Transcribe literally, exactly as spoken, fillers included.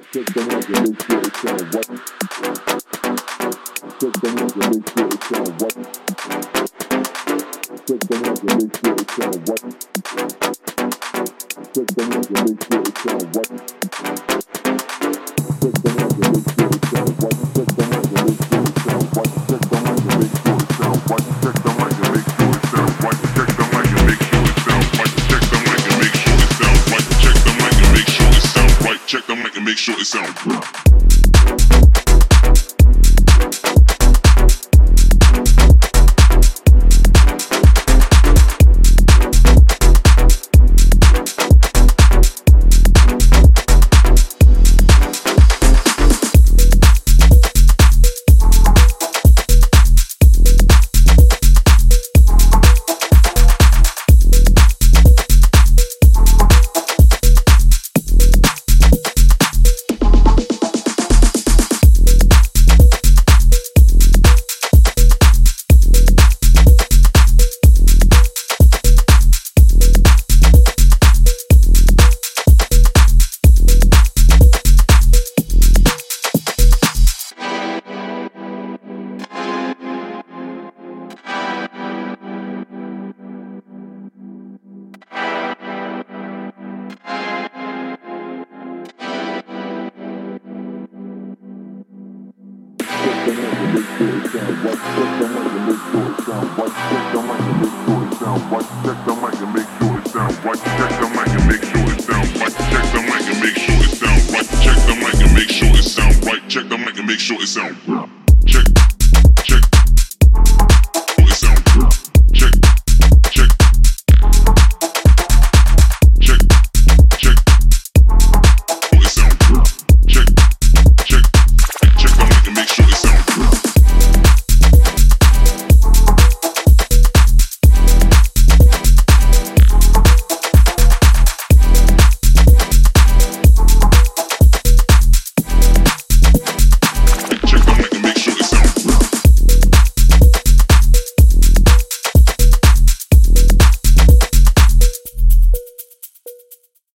Check the mic and make sure it sound right. Check the mic and make sure it sound right. Check the mic and make sure it sound right. Check the mic and make sure it sound right. Check the mic and make sure it sound right. Check the mic and make sure it sound right. Check the mic and make sure it sound right. Check the mic and make sure it sound right. Check the mic and make sure it sound right. Check the mic and make sure it sound right. Check the mic and make sure it sound right. Check the mic and make sure it sound right. Check the mic and make sure it sound right. Check the mic and make sure it sound right.